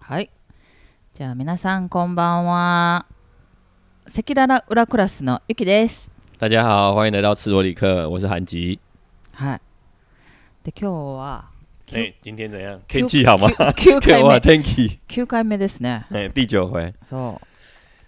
はい。じゃあ皆さんこんばんは。赤裸々裏クラスのゆきです。 大家好，欢迎来到赤裸里克，我是韩吉。 はい。で今日は今天怎样？天气好吗 ？9回目。 天気。 9回目ですね。 第9回。 そう。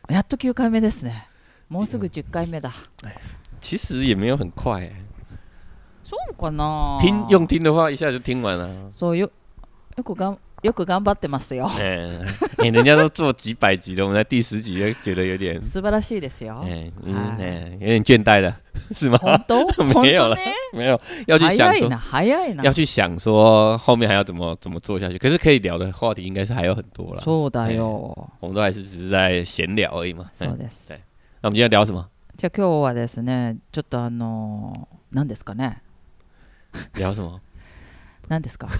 やっと9回目ですね。もうすぐ10回目だ。 其实也没有很快。 そうかな。 用听的话，一下就听完了。 そうよく頑張ってますよ。 人家都做几百集的，我们在第10集就觉得有点素晴らしいですよ。 有点倦怠了，是吗？ 本当？ 没有了，没有，要去想说， 早いな。 要去想说后面还要怎么做下去。可是可以聊的话题应该是还有很多啦。 そうだよ。 我们都还是只是在闲聊而已嘛。 そうです。 对，那我们今天聊什么？ じゃあ今日はですね、ちょっと何ですかね。 聊什么？ 何ですか？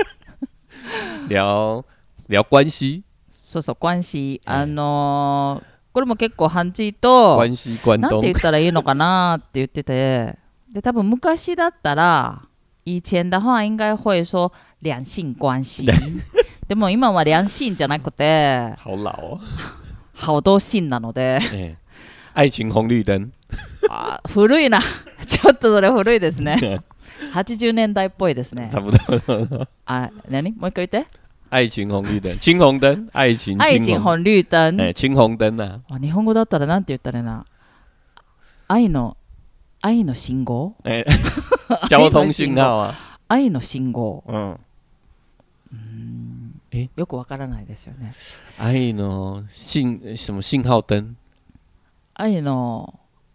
聊关系。 そうそう、关系。これも結構韓字と关系关東なんて言ったらいいのかなって言ってて、で多分昔だったら以前的话应该会说两性关系でも今は两性じゃなくて好老哦， 好多性なので、 愛情紅綠燈。 古いな。ちょっとそれ古いですね。80年代っぽいですね。 差不多。 何？もう一回言って。 愛情紅綠燈、青紅燈、愛情紅綠燈。 青紅燈啊。 日本語だったらなんて言ったらいいな。愛の信号？ 交通信号啊。 愛の信号。 よくわからないですよね。 愛の什麼信號燈？ 愛の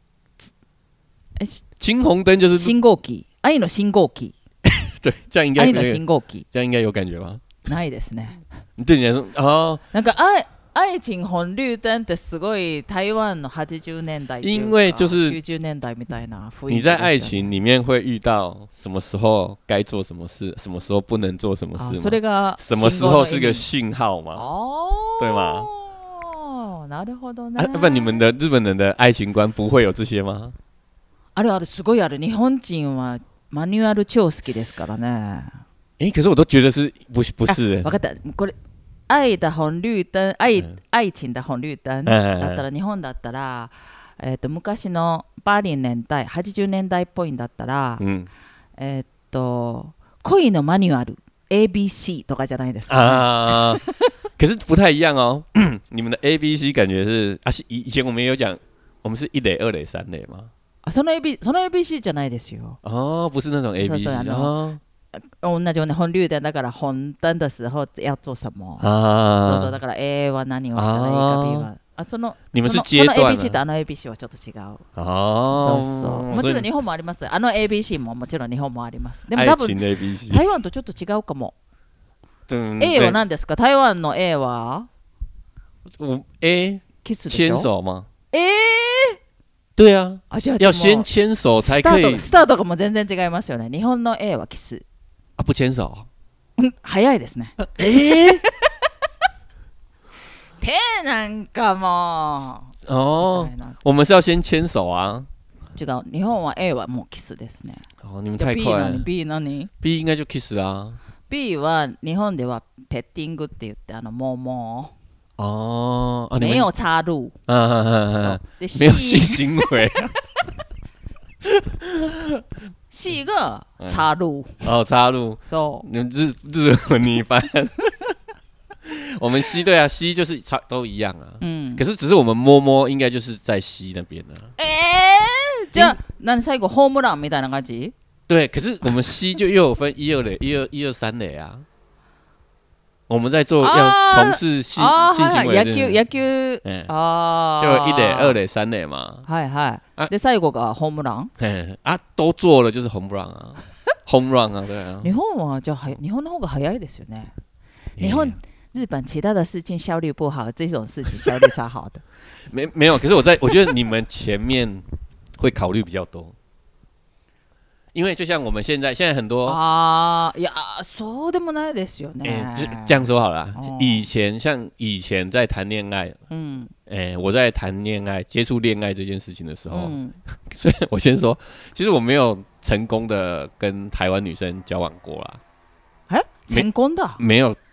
青紅燈就是信号機。愛の信号機。 对，这样应该愛の信号機。 这样应该有感觉吧？ ないですね。 对你来说なんか愛情紅綠燈ってすごい台湾の80年代因为就是 90年代みたいな雰囲気。 你在爱情里面会遇到什么时候该做什么事，什么时候不能做什么事吗？ それが什么时候是个信号吗？对吗？ なるほどね。 不，你们的日本人的愛情觀不会有这些吗？ あるすごいある。日本人はマニュアル超好きですからね。 可是我都觉得不是。 分かった。これ愛的紅綠燈、愛情的紅綠燈だったら、日本だったら、昔の80年代、80年代っぽいんだったら、恋のマニュアル ABC とかじゃないですか、ね。 可是不太一样哦。你们的 ABC 感觉是以前我们也有讲，我们是1垒、2垒、3垒吗？ その ABC じゃないですよ。 不是那种 ABC。 同じように本流灯だから本灯的時候要做什麼。そうそう、だから A は何をしたらいいか B は。 你们是阶段。 その ABC とABC はちょっと違う。そうそう。もちろん日本もあります。ABC ももちろん日本もあります。でも多分台湾とちょっと違うかも。A は何ですか？台湾の A は ？A キスでしょ？ 牵手吗？对啊，要先牵手才可以。 スタートがもう全然違いますよね。日本の A はキス。 不牵手？ 早いですね。手なんかもう。我们是要先牵手啊。 違う。日本は A はもうキスですね。 你们太快了。 B 何？ B 应该就 kiss 啊。 B は日本ではペッティングって言ってもう没有插入。 没有性行为。 C が插入。 插入。 そう。 你们日文你一般。我们 C 对啊 ，C 就是都一样啊。可是只是我们摸应该就是在 C 那边了。 じゃあ何最後ホームランみたいな感じ？ 对，可是我们 C 就又有分1、2垒、1、2、3垒啊。我们在做要從事性行為野球就1壘、2壘、3壘嘛。 はいはい。で最後がホームラン？ 都做了就是home run啊。home run 啊，对啊。 日本はじゃあ日本の方が早いですよね。日本其他的事情效率不好，这种事情效率超好的。 没有，可是我觉得你们前面会考虑比较多。因为就像我们现在很多いやそうでもないですよね。 这样说好了，以前在谈恋爱，我在谈恋爱接触恋爱这件事情的时候，所以我先说，其实我没有成功的跟台湾女生交往过啦。 成功的？ 没有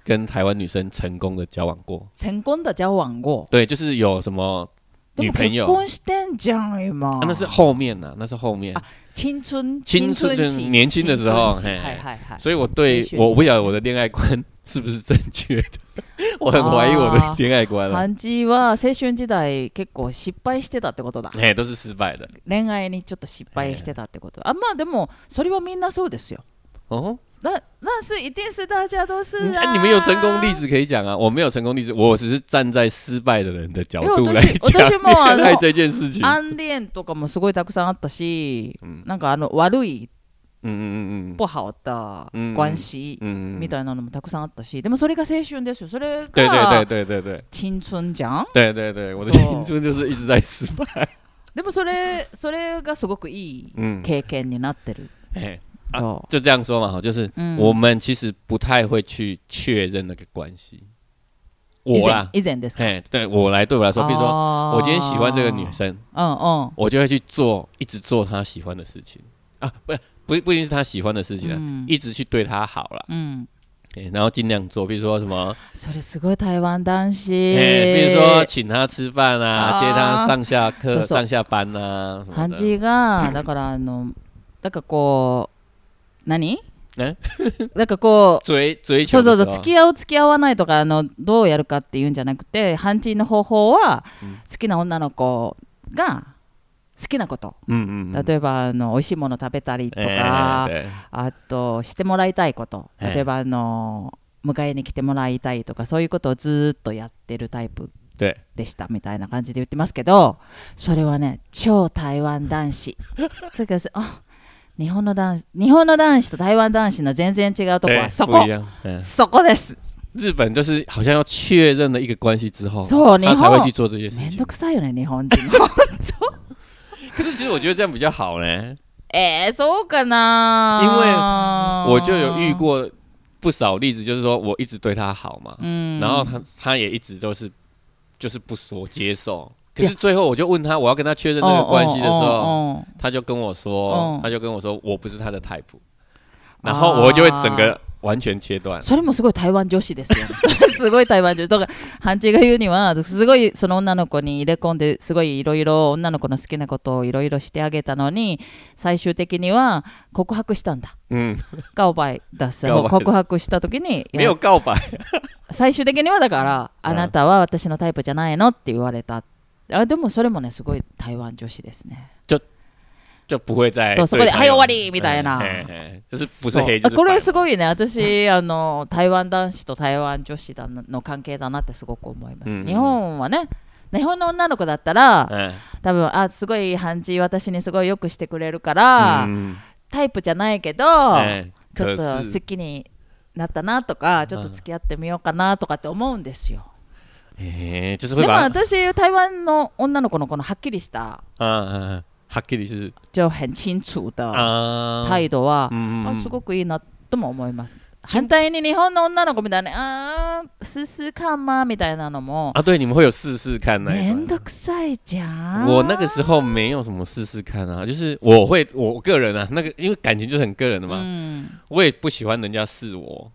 跟台湾女生成功的交往过。 成功的交往过？ 对，就是有什么女朋友。 結婚してんじゃん今。 那是后面呐，那是后面。 青春就是年轻的时候，所以我不晓得我的恋爱观是不是正确的，我很怀疑我的恋愛觀。 ハンジは青春時代結構失敗してたってことだ。 都是失敗的。 恋愛にちょっと失敗してたってこと。まあでもそれはみんなそうですよ。那是一定是大家都是啊。 你们有成功例子可以讲啊，我没有成功例子，我只是站在失敗的人的角度来講恋愛這件事情。 暗恋とかもすごいたくさんあったし、なんか悪い不好的关系みたいなのもたくさんあったし、でもそれが青春ですよ。それが青春じゃん。 对对对，我的青春就是一直在失敗。 でもそれがすごくいい経験になってる。 就这样说嘛，就是我们其实不太会去确认那个关系。我啦， 以前ですか？ 对我来说，比如说我今天喜欢这个女生，我就会去一直做她喜欢的事情啊，不一定是她喜欢的事情啊，一直去对她好啦。然后尽量做，比如说什么， それすごい台湾男子， 比如说请他吃饭啊，接他上下课、上下班啊。 ハンジがだからだからこう何？なんかこう追求そう付き合う付き合わないとかどうやるかっていうんじゃなくて、ハンジの方法は好きな女の子が好きなこと、例えば美味しいもの食べたりとか、あとしてもらいたいこと、例えば迎えに来てもらいたいとか、そういうことをずっとやってるタイプでしたみたいな感じで言ってますけど、それはね超台湾男子这个是日本の男子と台湾男子の全然違うとこはそこです。 日本就是好像要确认了一个关系之後，他才会去做这些事情。 めんどくさいよね日本人。 可是其实我觉得这样比较好呢。 そうかな？ 因为我就有遇过不少例子，就是说我一直对他好嘛，然后他也一直都是就是不说接受。可是最后我就问他，我要跟他确认这个关系的时候，他就跟我说我不是他的 type， 然后我就会整个完全切断。 それもすごい台湾女子ですよ。それすごい台湾女子。だからハンチが言うにはすごいその女の子に入れ込んですごいいろいろ女の子の好きなことをいろいろしてあげたのに、最終的には告白したんだ。告白だす。告白した時に没有告白。 最終的にはだからあなたは私のタイプじゃないのって言われた。でもそれもねすごい台湾女子ですね。 就不会再そこではい終わりみたいな。 就是不是黑就是白。 これすごいね。私台湾男子と台湾女子の関係だなってすごく思います。日本はね、日本の女の子だったら多分すごいハンジ私にすごいよくしてくれるからタイプじゃないけどちょっと好きになったなとか、ちょっと付き合ってみようかなとかって思うんですよ。でも私台湾の女の子のこのはっきりしたはっきり是就很清楚的態度はすごくいいなとも思います。反対に日本の女の子みたいな試試看嘛みたいなのも对，你们会有试试看那一めんどくさいじゃん。 我那个时候没有什么试试看啊，就是我个人啊，那个因为感情就是很个人的嘛，我也不喜欢人家试我。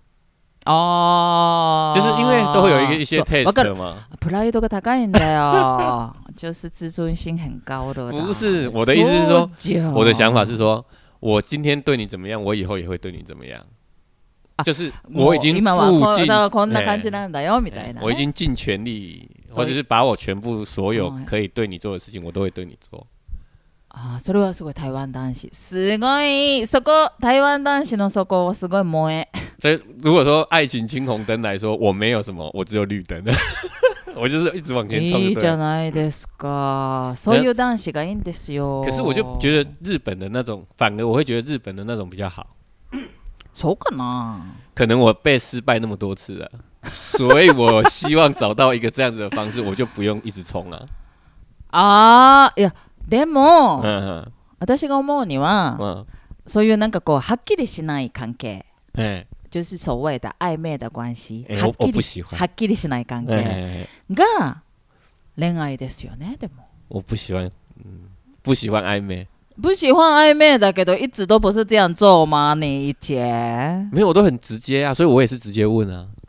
就是因为都会有一些 test 嘛。 プライドが高いんだよ。就是自尊心很高的。 不是，我的意思是说，我的想法是说，我今天对你怎么样，我以后也会对你怎么样。就是我已经付尽， こんな感じなんだよみたいな。 我已经尽全力，或者是把我全部所有可以对你做的事情，我都会对你做。 それはすごい台湾男子。すごいそこ台湾男子のそこはすごい萌え。 所以如果说爱情青红灯来说，我没有什么，我只有绿灯。我就是一直往前冲。 いいじゃないですか。そういう男子がいいんですよ。 可是我就觉得日本的那种，反而我会觉得日本的那种比较好。 そうかな？ 可能我被失败那么多次了，所以我希望找到一个这样子的方式，我就不用一直冲啊。 いやでも、私が思うには、そういうなんかこうはっきりしない関係。就是所谓的暧昧的关系、はっきりしない関係が恋愛ですよね。でも我不喜欢暧昧， 不喜欢暧昧的，けど一直都不是这样做吗？你以前没有，我都很直接啊，所以我也是直接问啊。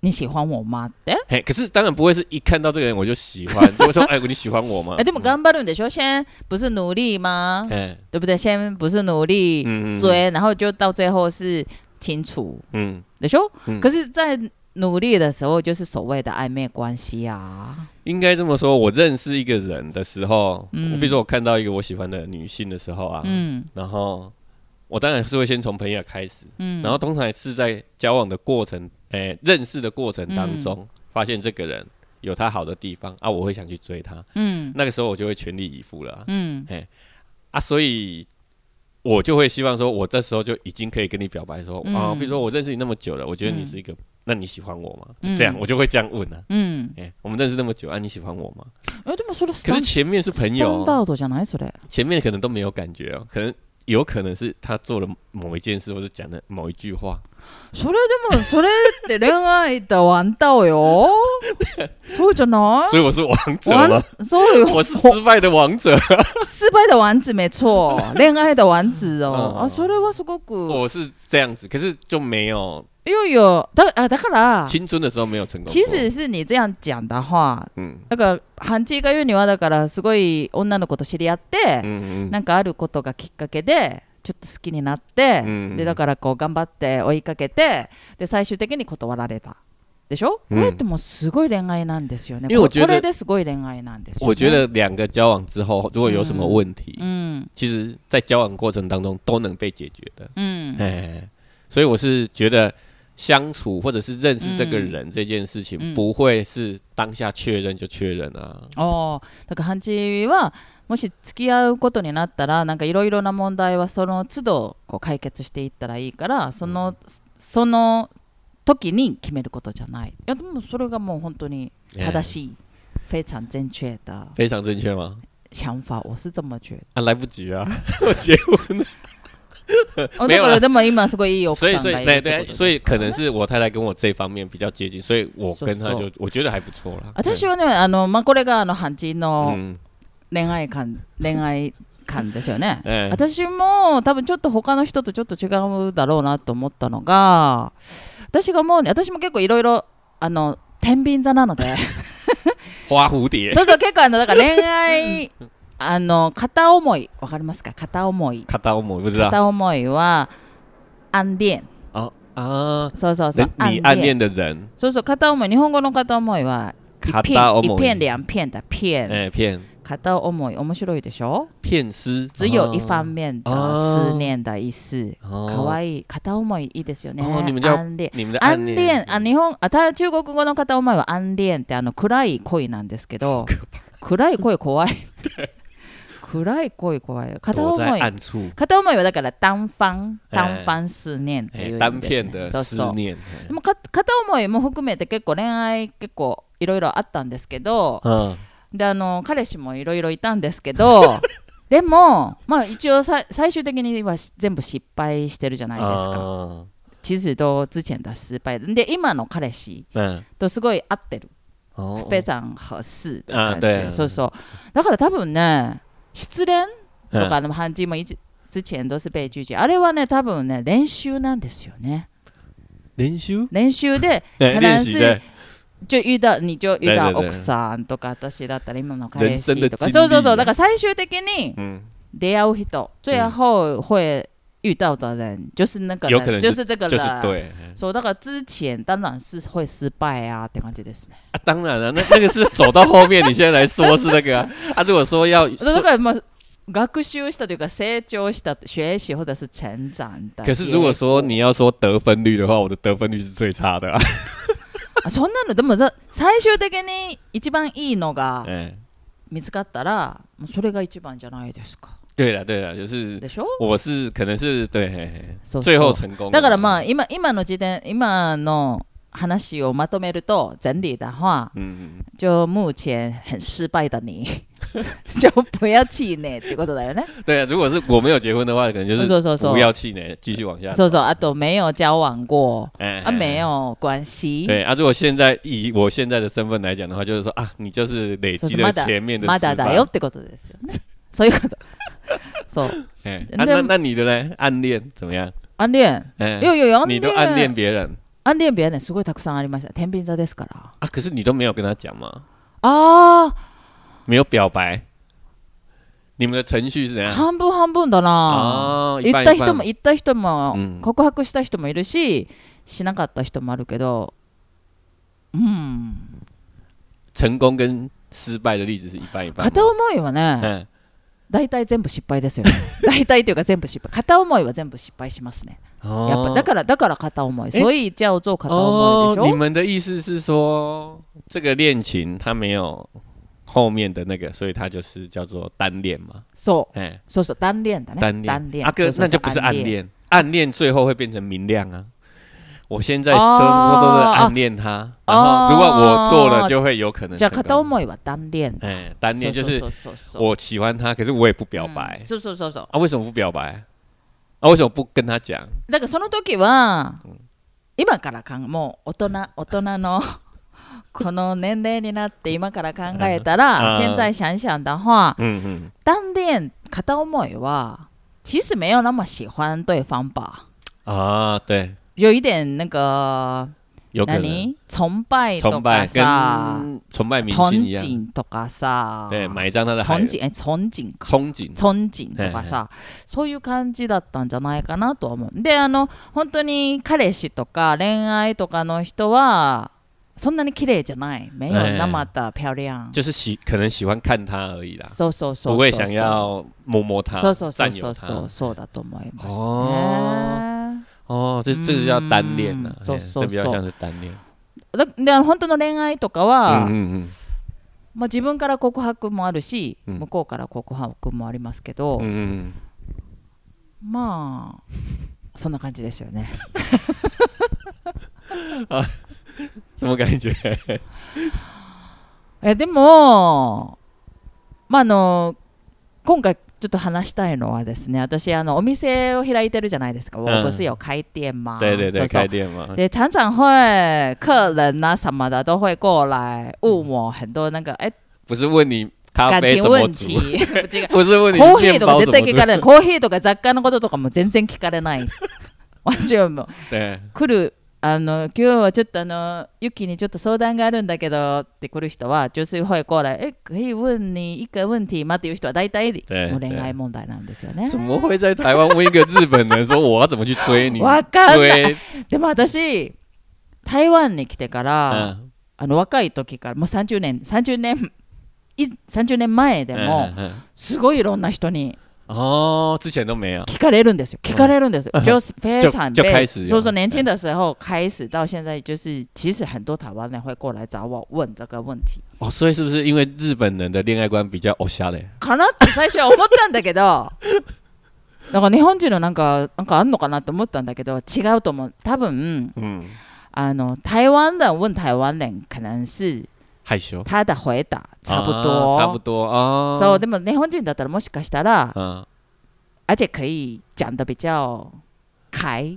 你喜欢我吗？ 嘿，可是当然不会是一看到这个人我就喜欢，就会说哎，你喜欢我吗？ でも頑張るんでしょ？现在不是努力吗？对不对？先不是努力追，然后就到最后是清楚，でしょ？可是，在努力的时候，就是所谓的暧昧关系啊。 应该这么说，我认识一个人的时候，比如说我看到一个我喜欢的女性的时候啊，然后我当然是会先从朋友开始，然后通常是在交往的过程，认识的过程当中，发现这个人有他好的地方啊，我会想去追他，那个时候我就会全力以赴了，所以我就会希望说，我这时候就已经可以跟你表白说，比如说我认识你那么久了，我觉得你是一个。那你喜欢我吗？就这样，我就会这样问啊。我们认识那么久啊，你喜欢我吗？可是前面是朋友，前面可能都没有感觉哦，有可能是他做了某一件事，或者讲的某一句话。 それって恋愛的王道よ。そうじゃない？ 所以我是王者吗？ そうよ。 我是失败的王者。 失败的王子没错，恋愛的王子哦。それはすごく。 我是这样子，可是就没有。 だから青春的时候没有成功。 其实是你这样讲的話、なんかハンチが言うにはだからすごい女の子と知り合って、なんかあることがきっかけでちょっと好きになって、でだからこう頑張って追いかけて、で最終的に断られた。でしょ？これってもうすごい恋愛なんですよね。これですごい恋愛なんですよね。 我觉得两个交往之后，如果有什么问题，其实在交往过程当中都能被解决的。所以我是觉得。相处或者是认识这个人这件事情，不会是当下确认就確認啊。 だからハンチはもし付き合うことになったら、なんかいろいろな問題はその都度こう解決していったらいいから、その時に決めることじゃない。いやでもそれがもう本当に正しい、非常正确的。 非常正确吗？ 想法我是这么觉得。 来不及啊，我结婚了。 没有了，でも今すごいいい奥さんがいる。 对，所以可能是我太太跟我这方面比较接近，所以我跟她就我觉得还不错啦。 私はね、これがハンチの恋愛観ですよね。私も多分ちょっと他の人とちょっと違うだろうなと思ったのが、私も結構いろいろ天秤座なので。 花蝴蝶。 そう結構だから恋愛片思いわかりますか？片思い不知道。 片思いは暗恋。そう你暗恋的人。 そう片思い、日本語の片思いは一片两片的片。片思い面白いでしょ？ 片思。 只有一方面的思念的意思。可愛い。片思いいいですよね。 你们的暗恋。 中国語の片思いは暗恋って暗い恋なんですけど、暗い恋怖い。暗い恋怖い。片思いはだから単方思念っていう意味ですね。 単片的思念。 でも片思いも含めて結構恋愛結構いろいろあったんですけど、で彼氏もいろいろいたんですけど、でもまあ一応最終的には全部失敗してるじゃないですか。其实都之前的失敗で、今の彼氏とすごい合ってる。非常合适的感觉。そうそう。だから多分ね。失恋とかのハンチも之前都是被拒绝。あれはね、多分ね、練習なんですよね。練習で、可能是你就遇到奥さんとか、私だったら今の彼氏とか。そう。だから最終的に出会う人、最後会遇到的人就是那个人，就是这个人。 对。 所以那个之前当然是会失败啊，って感じですね。 当然了，那个是走到后面，你现在来说是那个啊。如果说要， だからまあ学習したというか成長した学習或者是成長的。 可是如果说你要说得分率的话，我的得分率是最差的。 そんなのでも最終的に一番いいのが見つかったら、それが一番じゃないですか。 对了，就是我是可能是对最后成功。 だからまあ今の話をまとめると整理的话，就目前很失败的你，就不要气馁ってことだよね。 对啊，如果是我没有结婚的话，可能就是不要气馁，继续往下。 あと没有交往过，没有关系。 对啊，如果现在以我现在的身份来讲的话，就是说啊，你就是累积了前面的失败。まだだよってことですよね。そういうこと。そう。 那你的呢？暗恋怎么样？ 暗恋？有。 你都暗恋别人？ 暗恋日はねすごいたくさんありました。天秤座ですから。 啊，可是你都没有跟他讲吗？ あ没有表白。你们的程序是怎样？ 半分半分だな。言った人も、告白した人もいるし、しなかった人もあるけど、 成功跟失敗的例子是一半一半。 片思いはね、大体全部失敗ですよね。大体というか全部失敗。片思いは全部失敗しますね。やっぱだから片思い，所以叫做片思いでしょ。 你们的意思是说，这个恋情它没有后面的那个，所以它就是叫做单恋嘛。 そう、单恋的ね。 单恋。哥，那就不是暗恋，暗恋最后会变成明亮啊。我现在都是暗恋他，然后如果我做了，就会有可能。 じゃあ片思いは单恋。 单恋就是我喜欢他，可是我也不表白。 そう。 啊，为什么不表白？啊，为什么不跟他讲？ だからその時は、今からもう大人のこの年齢になって今から考えたら，现在想想的话，单恋片思いは其实没有那么喜欢对方吧？ 啊，对。 有一点那个崇拜とかさ、 崇拜明星一样， 憧憬とかさ、 对，買一張他的憧憬とかさ、そういう感じだったんじゃないかなと思う。で、本当に彼氏とか恋愛とかの人はそんなに綺麗じゃない，没有那么的漂亮， 就是可能喜欢看他而已啦， そう， 不会想要摸他，占有他， そうだと思いますね。 这是叫单恋呐，这比较像是单恋。 で本当の恋愛とかは、まあ自分から告白もあるし、向こうから告白もありますけど、まあそんな感じですよね。 什么感觉？ でも、まあ今回ちょっと話したいのはですね、私お店を開いてるじゃないですか。我不是有开店吗？ 对，开店嘛。 对，常常会客人啊什么的都会过来问我很多那个不是问你咖啡怎么煮，不是問你コーヒーとか絶対聞かれない。コーヒーとか雑貨のこととかも全然聞かれない。完全も来る。今日はちょっとユキにちょっと相談があるんだけどって来る人は就是会过来可以問你一個問題吗っていう人は大体もう恋愛問題なんですよね。 怎么会在台湾问一个日本人说我要怎么去追你？ わかんない。でも私台湾に来てから、若い時からもう30年前でもすごいいろんな人に之前都没有聞かれるんですよ。就非常就开始， 所以说年轻的时候开始到现在，就是其实很多台湾人会过来找我问这个问题。 所以是不是因为日本人的恋愛观比較おしゃれ？ かなって最初は思ったんだけど、だから日本人のなんかあんのかなと思ったんだけど違うと思う。多分、台湾人问台湾人可能是。 害羞， 他的回答差不多啊。 そうでも日本人だったらもしかしたら，而且可以讲的比较开。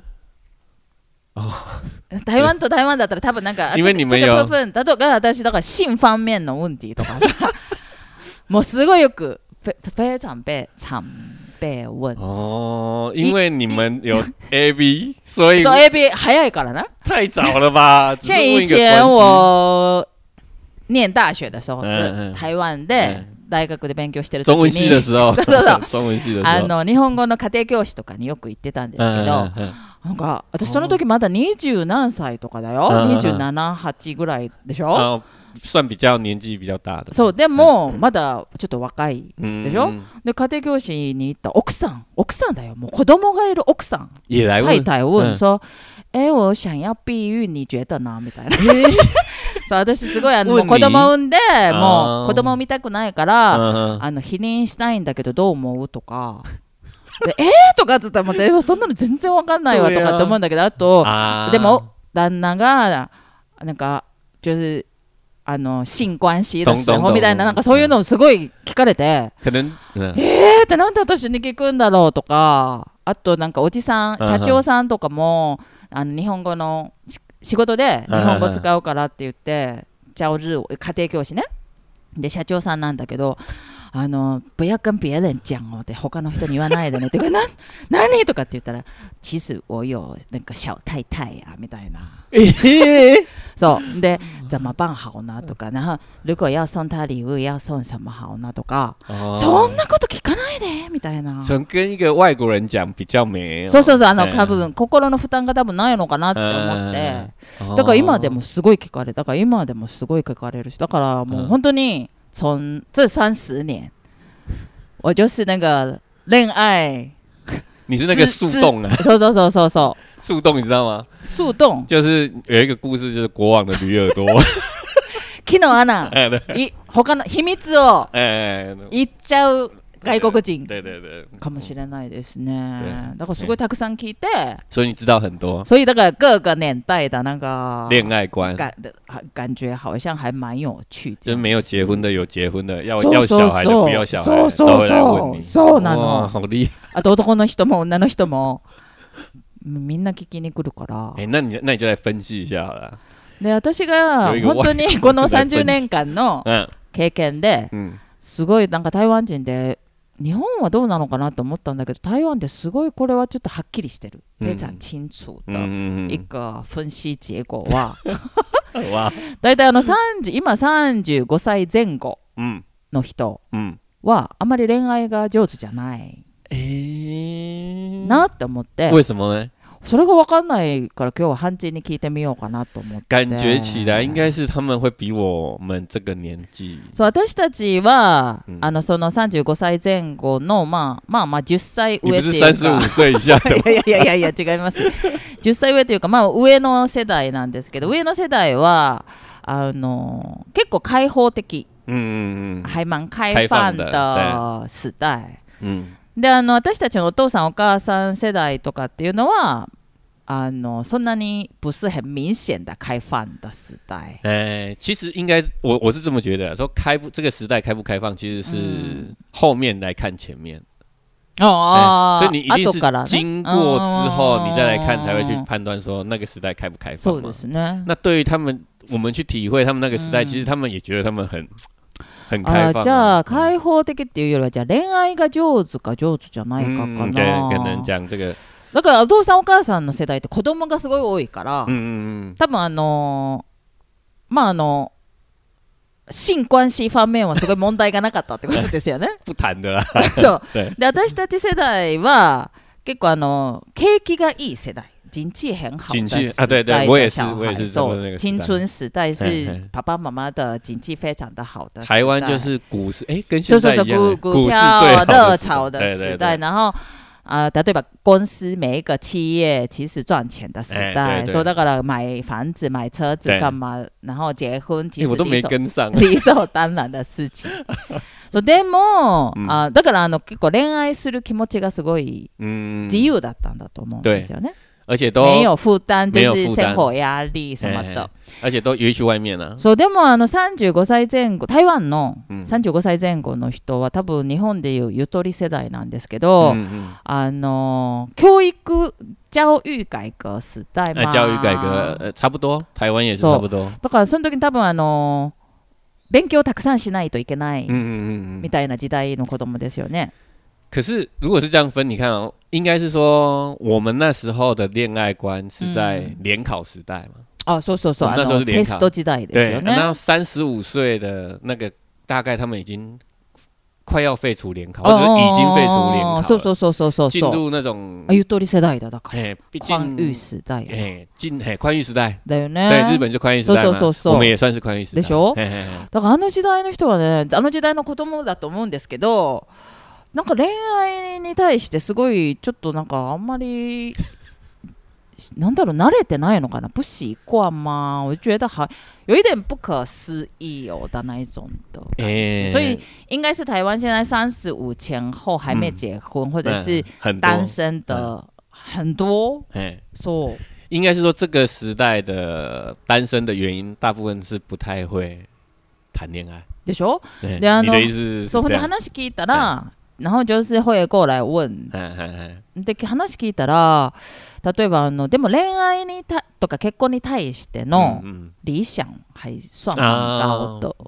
台湾と台湾だったら多分なんか因为你们有这个部分，例えば私だから性方面の問題とかさ、もうすごいよく非常被问。 因为你们有 AV， 所以 AV 早いからな。 太早了吧？ 像以前我念大学的时候，台湾で大学で勉強してる時に、 中文系的時候、中文系的時候、 日本語の家庭教師とかによく行ってたんですけど、なんか私その時まだ20何歳とかだよ、27、8ぐらいでしょ。 算比较年紀比較大的。 そうでもまだちょっと若いでしょ。で家庭教師に行った奥さんだよ、もう子供がいる奥さん。太太問說。我想要避孕你觉得呢みたいな。そう私すごいもう子供産んでもう子供産みたくないから避妊したいんだけどどう思うとかでとかっつったらもうそんなの全然わかんないわとかって思うんだけど、あとでも旦那がなんか就是性關係的時候みたいな、なんかそういうのをすごい聞かれて、ってなんで私に聞くんだろうとか、あとなんかおじさん社長さんとかも日本語の仕事で日本語使うからって言って家庭教師ねで社長さんなんだけど、 不要跟别人讲哦で他の人に言わないでねって何とかって言ったら其实我有那个小太太呀みたいなそうで怎么办好呢とか然後如果要送他礼物要送什么好呢とかそんなこと聞かないでみたいな跟一个外国人讲比较没そう多分心の負担が多分ないのかなって思ってだから今でもすごい聞かれるしだからもう本当に从这30年我就是那个恋愛你是那个树洞啊そう树洞你知道吗樹洞就是有一个故事就是国王的驴耳朵昨日アナ他の秘密を言っちゃう外国人かもしれないですね。だからすごいたくさん聞いて， 所以你知道很多。 所以那个各个年代的那个恋爱观， 感觉好像还蛮有趣的。 就是没有结婚的，有结婚的，要小孩的，不要小孩的，都会来问你。 そうなの。 好厉害。 あと男の人も女の人もみんな聞きに来るから。 那你就来分析一下好了。 で私が本当にこの30年間の経験ですごいなんか台湾人で。日本はどうなのかなと思ったんだけど台湾ってすごいこれはちょっとはっきりしてる非常清楚的一个分析結果はだいたい今35歳前後の人はあまり恋愛が上手じゃないなって思って为什么呢それが分かんないから今日は判定に聞いてみようかなと思って感觉起来应该是他们会比我们这个年紀そう私たちは、その35歳前後のまあ10歳上っていうか你不是35歳以下的いや違います10歳上というかまあ上の世代なんですけど上の世代は結構開放的還蠻開放的時代で私たちのお父さんお母さん世代とかっていうのはそんなに不是很明显的开放的时代。 其实应该我是这么觉得，说这个时代开不开放，其实是后面来看前面。所以你一定是经过之后，你再来看才会去判断说那个时代开不开放嘛。 そうですね。 那对于他们，我们去体会他们那个时代，其实他们也觉得他们很開放。 じゃあ開放的っていうよりはじゃあ恋愛が上手か上手じゃないかかな。 可能讲这个。 だからお父さんお母さんの世代って子供がすごい多いから、多分まあ性關係方面はすごい問題がなかったってことですよね。 不談的啦。 そうで私たち世代は結構景気がいい世代。经济很好的时代的小孩，青春时代是爸爸妈妈的经济非常的好的时代。 台湾就是股市，跟现在一样， 股票热潮的时代。然后例えば公司每一个企业其实赚钱的时代，说だから买房子、买车子干嘛，然后结婚其实我都没跟上， 理所当然的事情。そうでもだから結構恋愛する気持ちがすごい自由だったんだと思うんですよね。 而且都没有負担，就是生活压力什么的， 而且都约去外面啊。 そうでも35歳前後、台湾の35歳前後の人は多分日本でいうゆとり世代なんですけど、教育教育改革時代嘛。 教育改革差不多，台湾也是差不多。 だからその時に多分勉強をたくさんしないといけないみたいな時代の子供ですよね。 可是如果是这样分，你看哦，应该是说我们那时候的恋爱观是在联考时代嘛。 そうそうそう。 那时候是联考。 テスト時代ですよね。 那35岁的那个大概他们已经快要废除联考，或者已经废除联考了。 そう。 进入那种ゆとり世代だから宽裕时代。 宽裕时代。 だよね。 对，日本就宽裕时代嘛。我们也算是宽裕時代。 でしょ？だから時代の人はね、時代の子供だと思うんですけど。なんか恋愛に対してすごいちょっとなんかあんまりなんだろう慣れてないのかな不习惯吗我觉得有一点不可思议哦的那一种的所以应该是台湾现在35前后还没结婚或者是单身的很多そう应该是说这个时代的单身的原因大部分是不太会谈恋愛でしょで你的意思是そう話聞いたら然後就是会過来問で話聞いたら例えばでも恋愛にとか結婚に対しての理想還算蠻高的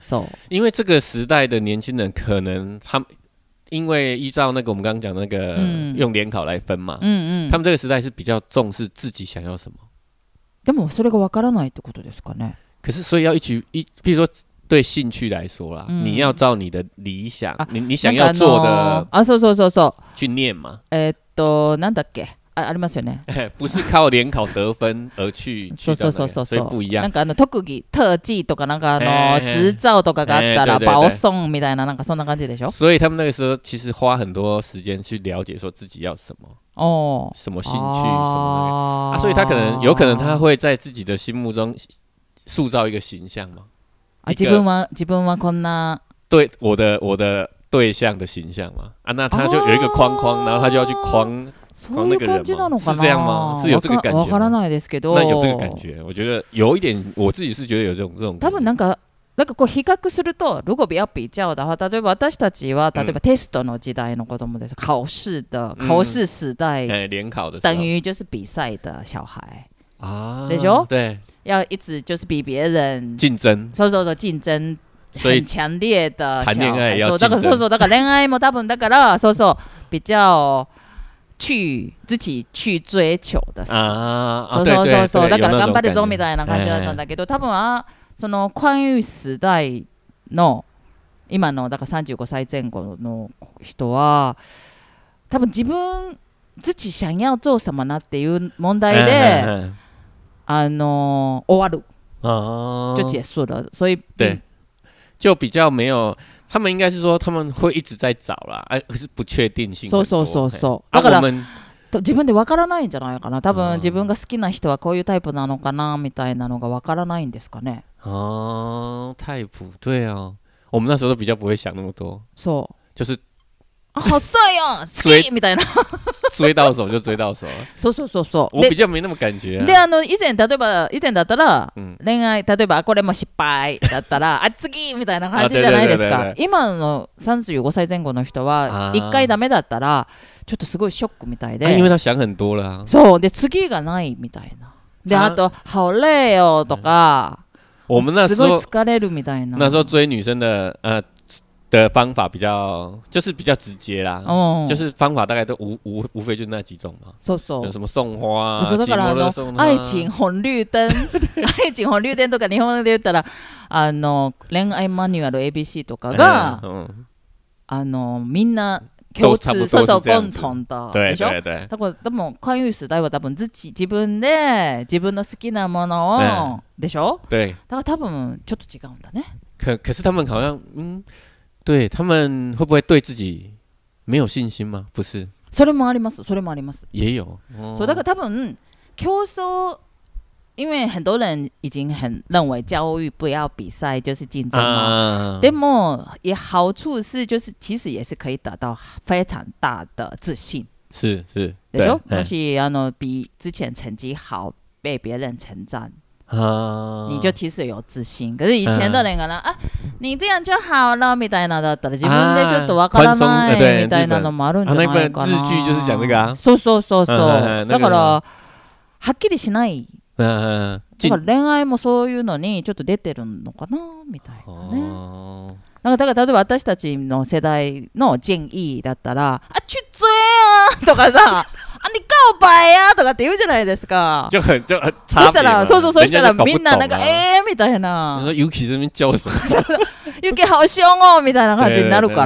因为这个时代的年轻人可能他们。因为依照那个我们刚刚讲那个用联考来分嘛，他们这个时代是比较重视自己想要什么。 でもそれがわからないってことですかね。 可是所以要比如说对興趣来说啦，你要照你的理想，你想要做的そう去念嘛。 なんだっけ。ありますよね。 不是靠聯考得分而去到那個，所以不一樣。 なんか特技特技とかなんか執照とかがあったら保送みたいななんかそんな感じでしょ。 所以他们那个时候其实花很多时间去了解说自己要什么，什么兴趣，什么那个所以他有可能他会在自己的心目中塑造一个形象嘛。 自分はこんな对我的对象的形象嘛。那他就有一个框框，然后他就要去框。 そういう感じなのかな？ 是这样吗？是有这个感觉吗？ わからないですけど。 那有这个感觉，我觉得有一点，我自己是觉得有这种。 多分なんかこう比較すると，如果不要比較的話，例えば私たちは例えばテストの時代の子供です，考試時代， 聯考的， 等於就是比賽的小孩啊， 對しょ？ 对， 要一直就是比別人競爭， そう競爭。很強烈的談戀愛也要競爭。 だから戀愛も多分だから比較。自己去追求的事。そうだから頑張るぞみたいな感じだったんだけど、多分その関羽時代の今のだから35歳前後の人は多分自己想要做什么なっていう問題で終わる就結束了，所以对就比较没有。他们应该是说他们会一直在找啦，可是不確定性很多。 そうだから自分でわからないんじゃないかな。多分自分が好きな人はこういうタイプなのかなみたいなのがわからないんですかね。 タイプ对啊，我们那时候都比较不会想那么多。 そう就是好帅哦，好きみたいな。 追到手就追到手。 そう。 我比较没那么感觉。 で以前だったら恋愛例えばこれも失敗だったら次みたいな感じじゃないですか。今の35歳前後の人は1回ダメだったらちょっとすごいショックみたいで。 因为他想很多了。 そうで次がないみたいな。であと好累哦とか。 我们那时候すごい疲れるみたいな。 那时候追女生的方法比较直接啦，就是方法大概都无非就那几种嘛。有什么送花啊， だから愛情紅綠燈愛情紅綠燈とか日本で言ったら恋愛マニュアル ABC とかがみんな共通共同的でしょ。だからでも関羽時代は多分自分で自分の好きなものをでしょ。 对。 だから多分ちょっと違うんだね。 可是他们好像对他们会不会对自己没有信心吗？不是， それもあります。 也有。 そうだから多分競争，因为很多人已经很认为教育不要比赛就是竞争嘛。でも也好处是就是其实也是可以得到非常大的自信。 是， でしょ？もし比之前成绩好被别人称赞。你就其实有自信，可是以前的人可能你这样就好了みたいなだったら自分でちょっとわからないみたいなのもあるんじゃないかな。 日劇就是讲这个啊。 そう。だからはっきりしない。だから恋愛もそういうのにちょっと出てるのかなみたいなね。だから例えば私たちの世代の建議だったら去追啊とかさ。你告白呀とかって言うじゃないですか。 就很そしたらみんななんかみたいな。 你说 Yuki 这边叫什么 ？Yuki 好凶哦みたいな感じになるから。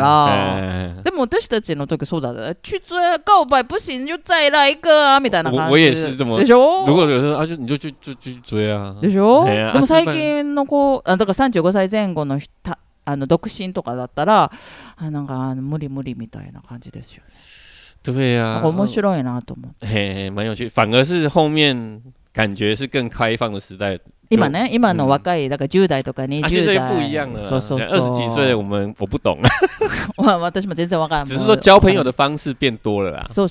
でも私たちの時そうだね。去追告白不行就再来一个啊みたいな感じ。 我也是这么。 でしょ？ 如果有人你就去追啊。 でしょ？でも最近の子だから35歳前後の独身とかだったらなんか無理みたいな感じですよ。 对啊， 面白いなと思って。 蛮有趣。反而是后面感觉是更开放的时代。 今の若いだから10代とか20代。 现在不一样了。そう。20几岁我不懂。 私も全然わからない。 只是说交朋友的方式变多了啦。 そう。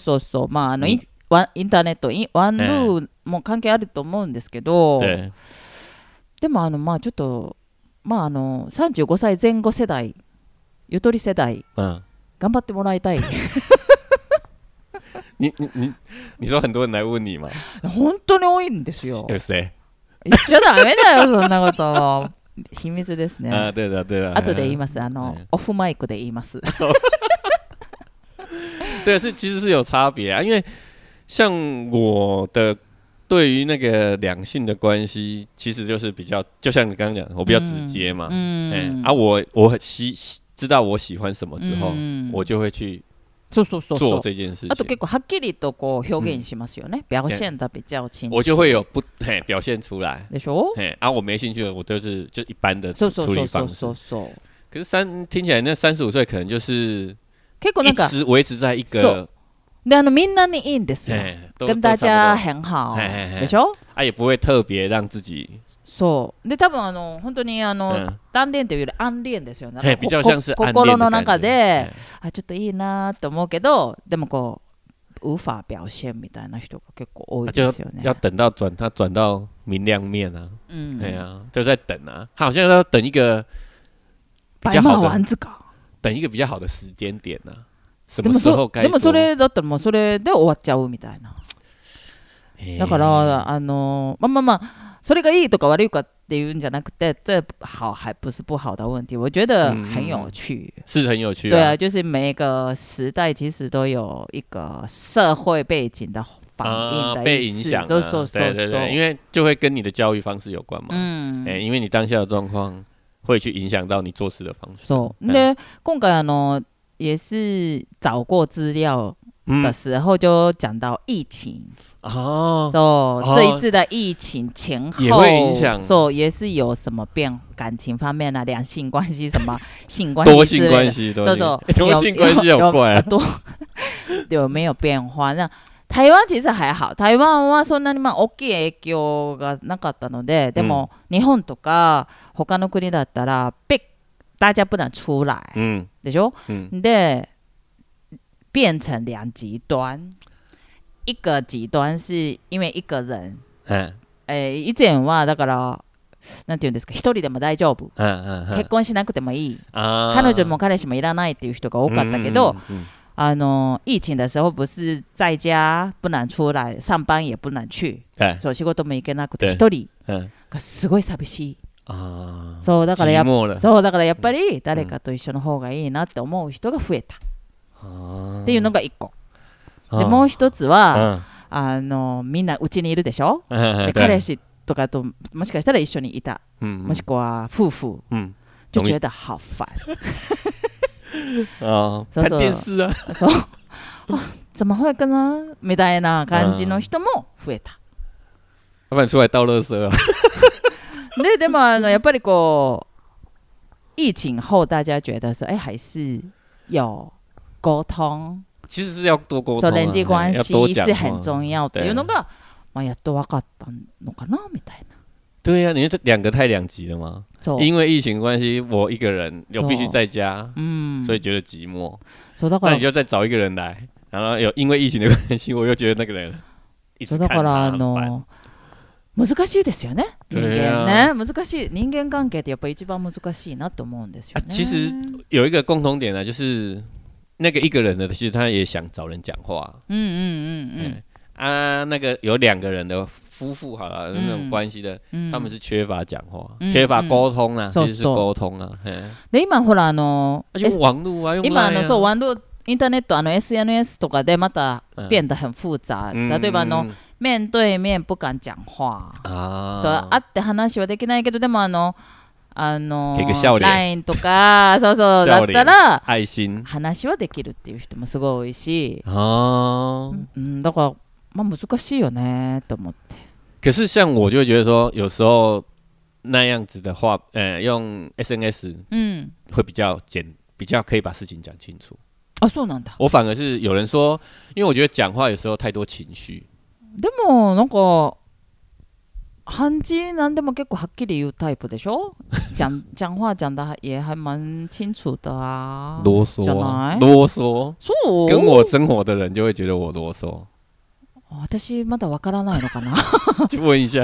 まあインターネットワンルーも関係あると思うんですけど。でもまあちょっとまあ35歳前後世代ゆとり世代頑張ってもらいたい。 你说很多人来问你吗？ 本当に多いんですよ。 有谁？ 言っちゃダメだよそんなこと。 秘密ですね。 对了对了。 後で言います。オフマイクで言います。 对，其实是有差别啊，因为像我的对于那个两性的关系，其实就是比较，就像你刚刚讲，我比较直接嘛。我很知道我喜欢什么之后，我就会去做这件事情。 あと結構はっきりとこう表現しますよね。表現的比较清楚。 我就会有表现出来。 でしょ？ 我没兴趣的，我就一般的处理方式。可是听起来那35岁可能就是一直维持在一个。 でみんなにいいんですよ。跟大家很好。でしょ？ 也不会特別让自己。 そうで多分本当に単恋というより暗恋ですよね。 比較像是暗恋的感覺。 心の中でちょっといいなと思うけど、でもこう無法表現みたいな人が結構多いですよね。 要等到他转到明亮面啊。对啊，就在等啊。他好像要等一个比较好的，等一个比较好的时間點啊。什么时候该说？ でもそれだったらもうそれで終わっちゃうみたいな。だからまあ。それがいいとか悪いかっていうんじゃなくて，这好还不是不好的问题，我觉得很有趣， 是很有趣。 对啊，就是每个时代其实都有一个社会背景的反应的被影响，对对对，因为就会跟你的教育方式有关嘛。因为你当下的状况会去影响到你做事的方式。 で今回也是找过资料的时候就讲到疫情。这一次的疫情前后也会影响， 也是有什么感情方面啊，两性关系什么性关系多性关系，多性关系好怪啊， 有没有变化？那台湾其实还好，台湾はそんなに大きい影響がなかったので、でも日本とか他の国だったら大家不能出来，でしょ？で变成两极端。一个极端是因为一个人，以前はだからなんていうんですか、一人でも大丈夫、結婚しなくてもいい、彼女も彼氏もいらないっていう人が多かったけど、疫情的时候不是在家不能出来，上班也不能去，そう仕事も行けなくて一人がすごい寂しい。そうだからやっぱり誰かと一緒の方がいいなって思う人が増えたっていうのが一個。でもう一つは、みんなうちにいるでしょ。で彼氏とかともしかしたら一緒にいた、もしくは夫婦、就觉得好烦。 看電視啊。 そう。怎么会呢？みたいな感じの人も増えた。 要不然出来倒垃圾啊。 でもやっぱりこう疫情后大家觉得说，还是有沟通。 其实是要多沟通、 人际关系是很重要的。いうのがやっと分かったのかなみたいな。 对呀，你这两个太两极了吗？因为疫情关系，我一个人又必须在家，所以觉得寂寞。那你就再找一个人来，然后因为疫情的关系，我又觉得那个人一直看他很烦。 難しいですよね。人間ね、難しい。人間関係ってやっぱ一番難しいなと思うんですよね。 其实有一个共同点呢，就是那个一个人的，其实他也想找人讲话。那个有两个人的夫婦好了，那种关系的，他们是缺乏讲话，缺乏沟通啊，其实是沟通啊。 で今ほら用网络啊， 今そう網絡インターネットSNS とかでまた变得很複雑。例えば面对面不敢讲话。そう会って話はできないけど、でもLINE とかそうだったら話はできるっていう人もすごい多いし、だから難しいよねと思って。 可是像我就会觉得说，有时候那样子的话，用 SNS 会比较可以把事情讲清楚。 そうなんだ。 我反而是有人说，因为我觉得讲话有时候太多情绪。 でもなんか漢字なんでも結構はっきり言うタイプでしょ。讲话讲的也还蛮清楚的啊。 啰嗦啊，啰嗦。そう。跟我生活的人就会觉得我啰嗦。 私まだわからないのかな。 去问一下。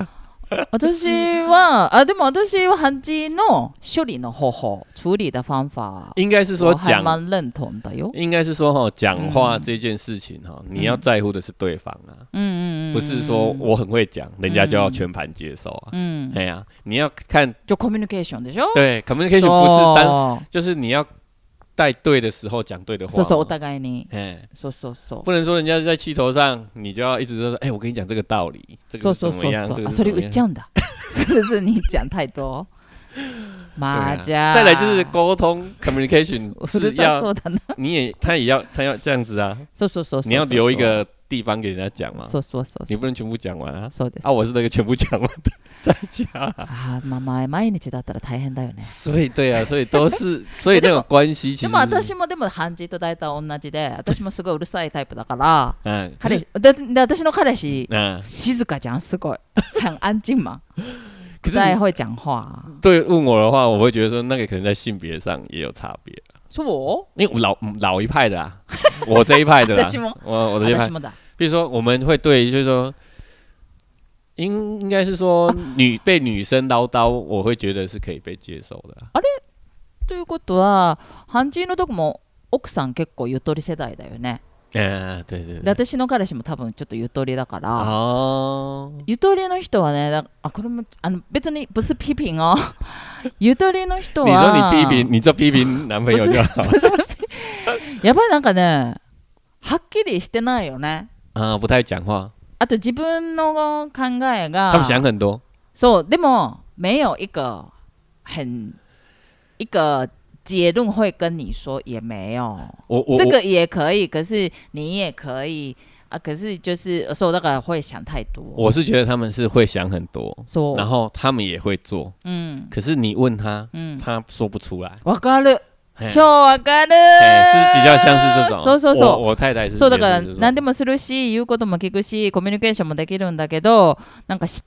私はでも私は漢字の処理の方法、处理的方法， 应该是说还蛮认同的哟。 应该是说讲话这件事情你要在乎的是对方啊，不是说我很会讲，人家就要全盘接受啊。哎呀，你要看就 communication でしょ？ 对 ，communication 不是单，就是你要带对的时候讲对的话。 そうそう、お互いに。そうそうそう。 不能说人家在气头上，你就要一直说，我跟你讲这个道理，这个怎么样？这个それ言っちゃうんだ。是不是你讲太多？ 再来就是沟通 communication 是要，他也要这样子啊。你要留一个地方给人家讲嘛。你不能全部讲完啊。我是那个全部讲完的在家。 毎日だったら大変だよね。 所以对啊，所以都是，所以那种关系其实。 でも漢字と大体同じで、私もすごいうるさいタイプだから、私の彼氏静かじゃん、すごい很安静嘛。不太会讲话。 对，问我的话，我会觉得说那个可能在性别上也有差别。 说我？ 因为我老一派的啊，我这一派的啦，我这一派。比如说我们会对，就是说，应该是说被女生唠叨，我会觉得是可以被接受的。 あれ？ということは、漢字のとこも奥さん結構ゆとり世代だよね。 对对对。で私の彼氏も多分ちょっとゆとりだから、ゆとりの人はね、これも別に不是批評哦。ゆとりの人は。 你就批評男朋友就好。 やっぱりなんかね、はっきりしてないよね。 不太讲话。 あと自分の考えが。 他们想很多。 そう、でも没有一个结论会跟你说也没有，这个也可以，可是你也可以啊，可是就是说那个会想太多。 我是觉得他们是会想很多，然后他们也会做，可是你问他，他说不出来。 わかる。超わかる。 是比较像是这种。 そう。 我太太是。 そうだから何でもするし、言うことも聞くし、コミュニケーションもできるんだけど、なんかして、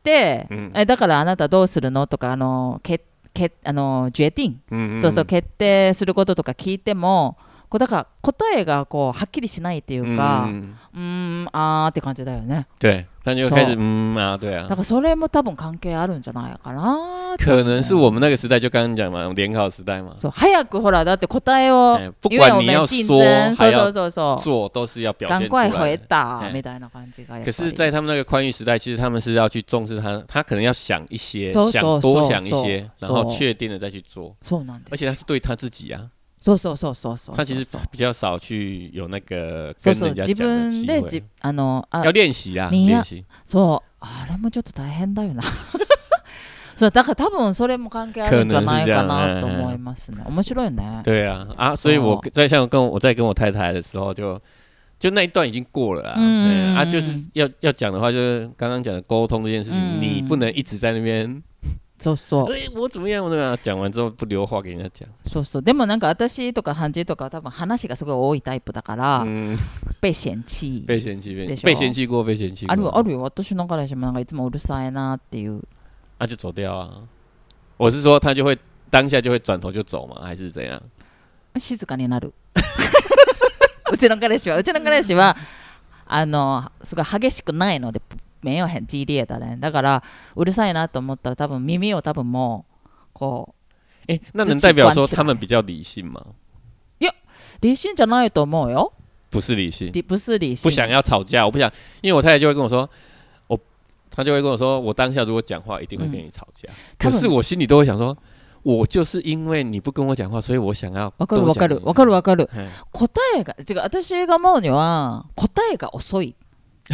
だからあなたどうするのとか決定、そうそう決定することとか聞いても、だから答えがはっきりしないっていうか、って感じだよね。 对，他就开始对啊。 だからそれも多分関係あるんじゃないかな。 可能是我们那个时代就刚刚讲嘛，联考时代嘛。 そう早くほらだって答えを， 不管你要说还要做， 都是要表现出来。赶快回答みたいな感じが。 可是，在他们那个宽裕时代，其实他们是要去重视他可能要想一些，多想一些，然后确定的再去做。而且他是对他自己啊。 そう。 他其实比较少去有那个跟人家讲的机会。要练习啊，练习。 そう、あれもちょっと大変だよな。そうだから多分それも関係あるんじゃないかなと思いますね。面白いね。 对啊，所以我在跟我太太的时候就那一段已经过了啊。就是要讲的话，就是刚刚讲的沟通这件事情，你不能一直在那边。 そう。 我怎么样？讲完之后不留话给人家讲。 そう。でもなんか私とか漢字とか多分話がすごい多いタイプだから、被嫌棄。 被嫌棄過。 あるよ。私の彼氏もなんかいつもうるさいなっていう。 就走掉啊！我是说他就会当下就会转头就走吗？还是怎样？ 静かになる。うちの彼氏はすごい激しくないので。没有很激烈的人，だからうるさいなと思ったら多分耳を多分もう那能代表说他们比较理性吗？ いや、理性じゃないと思うよ。 不是理性， 不想要吵架，我不想，因为我太太就会跟我说，她就会跟我说，我当下如果讲话一定会跟你吵架，可是我心里都会想说，我就是因为你不跟我讲話，所以我想要。 わかる。答えが私が思うには答えが遅い。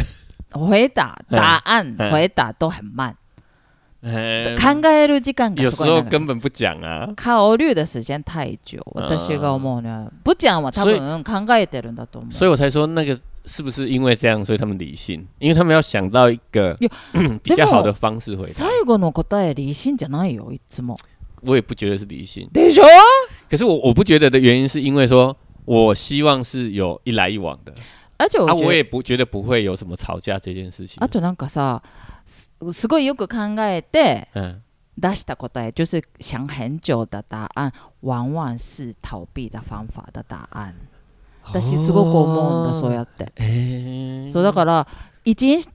答案回答都很慢。考える時間がすごい長い。 有时候根本不讲啊。 考慮的時間太久。私が思うには不講は多分考えてるんだと思う。 所以我才说那个是不是因为这样，所以他们理性？因为他们要想到一个比较好的方式回答。 最後の答え理性じゃないよいつも。 我也不觉得是理性。 でしょ？ 可是我不觉得的原因是因为说我希望是有一来一往的。我也不觉得不会有什么吵架这件事情。 あとなんかさ、すごいよく考えて出した答え，就是想很久的答案，往往是逃避的方法的答案。私すごく思うんだそうやって。そうだから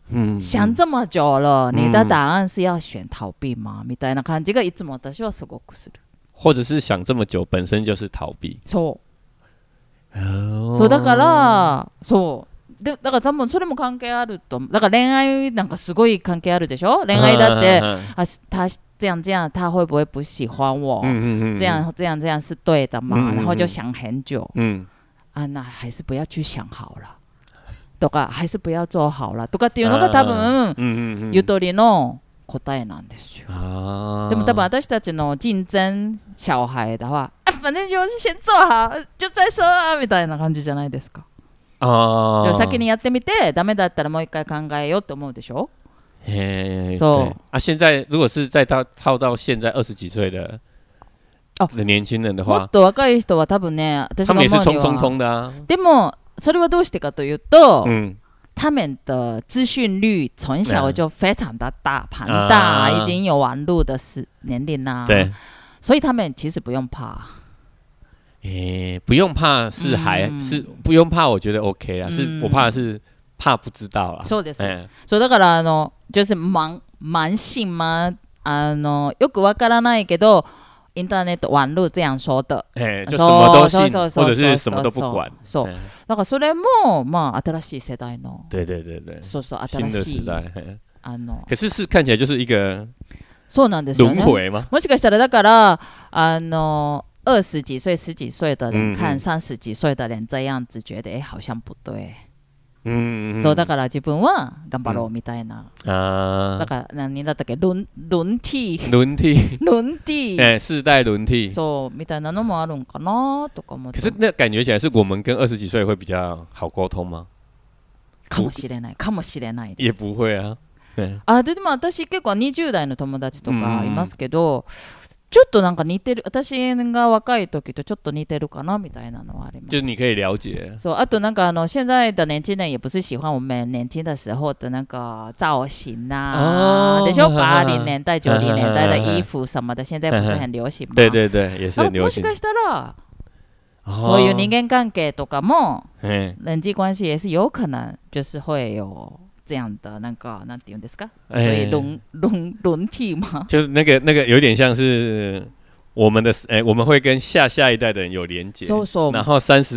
想这么久了，你的答案是要选逃避吗？みたいな感じがいつも私はすごくする。 或者是想这么久本身就是逃避。 そう。そうだからそう。だから多分それも関係あると。だから恋愛なんかすごい関係あるでしょ？恋愛だって他这样这样他会不会不喜欢我？这样这样这样是对的吗？然后就想很久。那还是不要去想好了。とか还是不要做好了とかっていうのが多分ゆとりの答えなんですよ。でも多分私たちの竞争小孩的話、反正就是先做好就再说啊みたいな感じじゃないですか。先にやってみてダメだったらもう一回考えようって思うでしょ。 そう。現在如果是再套到現在20幾歲的年輕人的話、 もっと若い人は多分ね、私が思うには他們也是衝衝衝的啊。 でもそれはどうしてかというと、他们的资讯率从小就非常的大庞大，已经有网络的年龄啦， 对， 所以他们其实不用怕。 不用怕是是不用怕，我觉得 OK 啦。是我怕的是怕不知道啦。 そうです。そうだから就是慢性吗？よくわからないけど。インターネット網絡这样说的， 就什么都信，或者是什么都不管。 そう。だからそれもまあ新しい世代の。 对对对对。 そうそう新しい。 新的時代。可是看起来就是一个。 そうなんですよね。 輪回吗？ もしかしたらだから20几岁、10几岁的人看30几岁的人这样子，觉得好像不对。そうだから自分は頑張ろうみたいな。だから何だったっけ輪替世代輪替そうみたいなのもあるんかなとか思って。 可是那感觉起来是我们跟20几岁会比较好沟通吗？ かもしれないかもしれないです。 也不会啊。 でも私結構20代の友達とかいますけど。ちょっとなんか似てる私が若い時とちょっと似てるかなみたいなのはあります。 就是你可以了解。 そうあとなんか現在的年轻人也不是喜欢我们年轻的时候的那个造型啊，でしょ？80年代90年代的衣服什么的，现在不是很流行吗？ 对对对，也是很流行。 もしかしたらそういう人間関係とかも人際关系也是有可能就是会有。这样的那个なんて言うんですか？所以轮替嘛， 就是那个有点像是我们的我们会跟下一代的人有連結，然後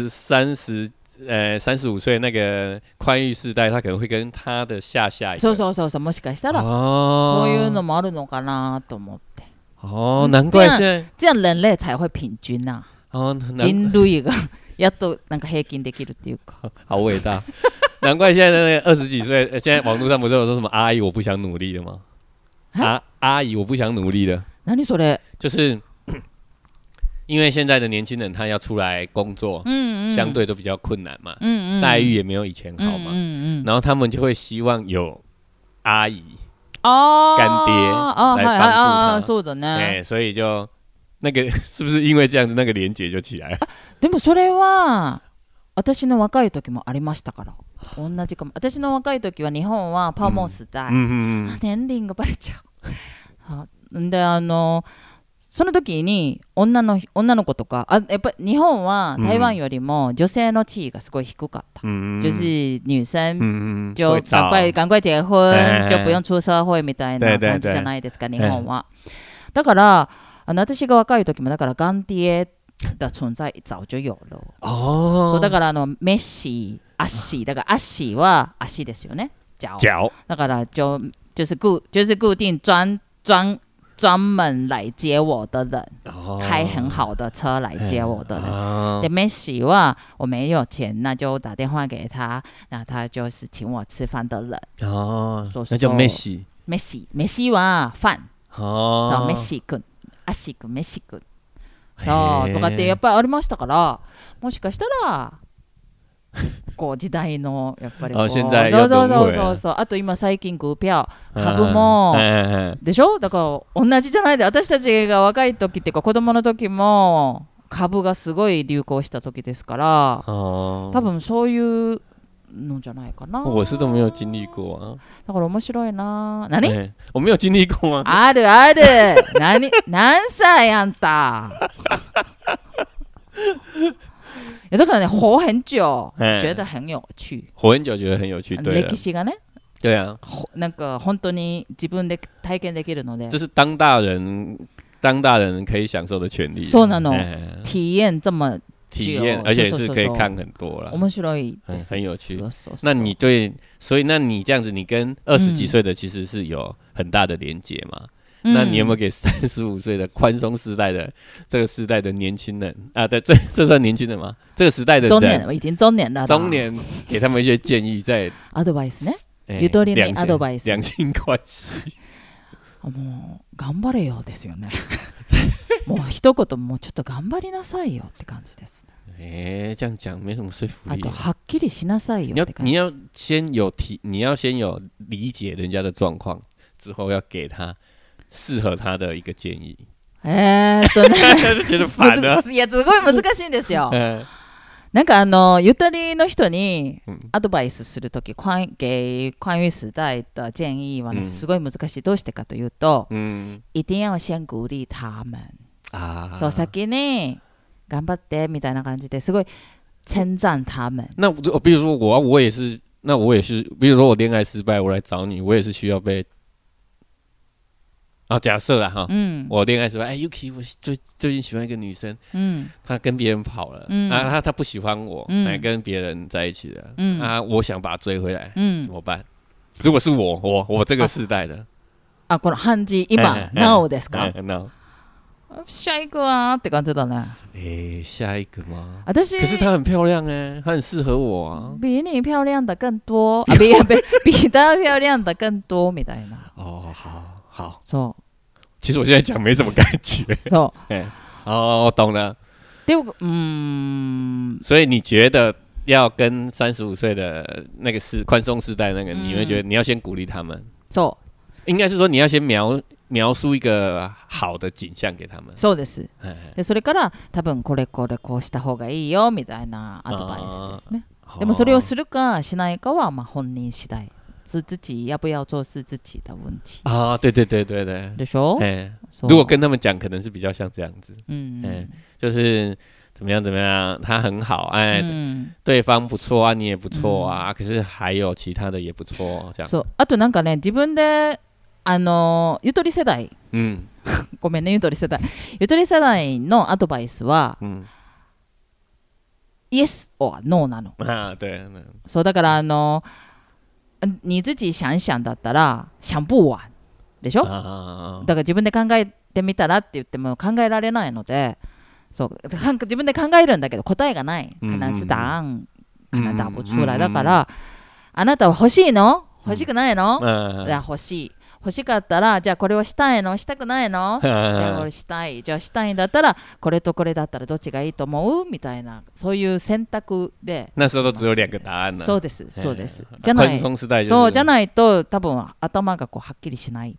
35歲那個寬裕世代，他可能會跟他的下一代。 そうもしかしたらそういうのもあるのかなと思って。 難怪現在这样人類才會平均呐。人類がやっとなんか平均できるっていうか。 好偉大。难怪现在那个20几岁，现在网络上不是有说什么阿姨我不想努力了吗？阿姨我不想努力了。 何それ？ 就是因为现在的年轻人他要出来工作，相对都比较困难嘛，待遇也没有以前好嘛，然后他们就会希望有阿姨、干爹来帮助他。 そうだね。 所以就那个是不是因为这样子那个連結就起来了？ でもそれは私の若い時もありましたから。同じかも。私の若い時は日本はパーモス代、年輪がバレちゃう。でその時に女の子とかやっぱ日本は台湾よりも女性の地位がすごい低かった。就是女生就赶快結婚就不用出社会みたいな感じじゃないですか日本は。だから私が若い時もだからガンティエ的存在早就有了。そうだからメッシ足だから足は足ですよね。脚。だから就是固定专门来接我的人，开很好的车来接我的人。对，梅西は我没有钱，那就打電話給他，那他就是請我吃飯的人。 那叫梅西。 梅西はファン。そう、梅西君、足君、梅西君。そうとかってやっぱりありましたから、もしかしたら。こう時代のやっぱりそうあと今最近股票株もでしょだから同じじゃないで私たちが若い時っていうか子供の時も株がすごい流行した時ですから多分そういうのじゃないかな。 我是都没有经历过啊。 だから面白いな。何？ 我没有经历过啊。 ある何歳あんた。だからね活很久、觉得很有趣。 活很久觉得很有趣。对。 歴史がね。 对啊， なんか本当に自分で体験できるので。 这是当大人可以享受的权利。 そうなの。体验这么体验，而且是可以看很多啦。 面白いです。 很有趣。那你对，所以那你这样子，你跟20几岁的其实是有很大的连结嘛？那你有没有给35岁的宽松时代的这个时代的年轻人啊？对，这算年轻人吗？这个时代的人， 中年，已经中年了。 中年给他们一些建议，在アドバイスね。ゆとりのアドバイス。 两性关系。 もう頑張れよですよね。もう一言もうちょっと頑張りなさいよって感じです。 这样讲没什么说服力。 あとはっきりしなさいよって感じ。 你要先有理解人家的状况，之后要给他适合他的一个建议。觉得烦了。 いやすごい難しいんですよ。なんかゆとりの人にアドバイスするとき、给宽裕时代的建议はすごい難しい。どうしてかというと、一定要先鼓励他们。そう先に頑張ってみたいな感じですごい称赞他们。 那比如说我也是，那我也是，比如说我恋爱失败，我来找你，我也是需要被。假设啦哈，我恋爱失败，Yuki， 我最近喜欢一个女生，她跟别人跑了，她不喜欢我，来跟别人在一起了，我想把她追回来，怎么办？如果是我这个世代的， この漢字今 now ですか？ now。下一个啊って感じだね。 下一个吗？ 可是她很漂亮她很适合我啊。 比你漂亮的更多，比她漂亮的更多みたいな。 好， そう。 其实我现在讲没什么感觉。 そう。 我懂了。所以你觉得要跟35岁的那个宽松世代那个，你会觉得你要先鼓励他们。 そう。 应该是说你要先描述一个好的景象给他们。 そうです。でそれから多分これこうした方がいいよみたいなアドバイスですね。でもそれをするかしないかは本人次第。是自己要不要做是自己的问题对， でしょ？ 如果跟他们讲，可能是比较像这样子，就是怎么样，他很好，对方不错啊，你也不错啊，可是还有其他的也不错，这样。 そう、あとなんかね、自分でゆとり世代、ごめんねゆとり世代のアドバイスは、yes or no なの。 对。 そうだから你自己想想だったら想不完でしょ？だから自分で考えてみたらって言っても考えられないので、そう自分で考えるんだけど答えがない。可能是答案可能答不出来。だからあなたは欲しいの？欲しくないの？いや欲しい。欲しかったらじゃあこれをしたいの？したくないの？じゃあこれしたい。じゃあしたいんだったらこれとこれだったらどっちがいいと思う？みたいなそういう選択で。 那时候都只有2个答案。 そうです。じゃないそうじゃないと多分頭がはっきりしない。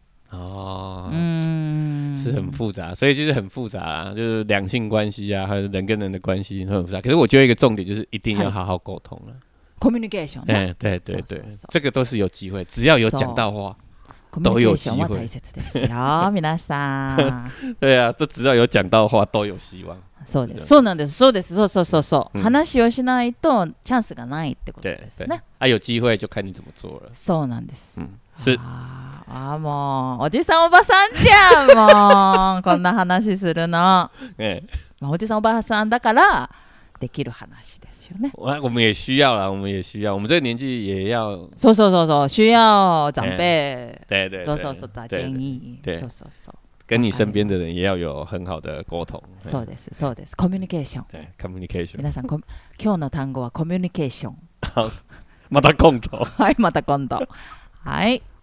是很复杂，所以就是很复杂就是两性关系啊，还有人跟人的关系很复杂。可是我觉得一个重点就是一定要好好沟通了。 communication。 对，这个都是有机会，只要有讲到話。都有機会。 大切ですよ皆さん。 对啊，都只要有讲到話都有希望。 そうです。そうなんです。そうです。そう。話をしないとチャンスがないってことですね。 有機会就看你怎么做了。 そうなんです。 是。 もうおじさんおばさんじゃんもうこんな話するの。おじさんおばさんだからできる話ですよね。 我们也需要啦，我们这个年纪也要。 そう需要长辈。 对。 そう打建議。そう。 跟你身边的人也要有很好的沟通。 そうです。コミュニケーション。 对 ，communication。 皆さん今日の単語はコミュニケーション。 好，また今度。 はい、また今度。はい。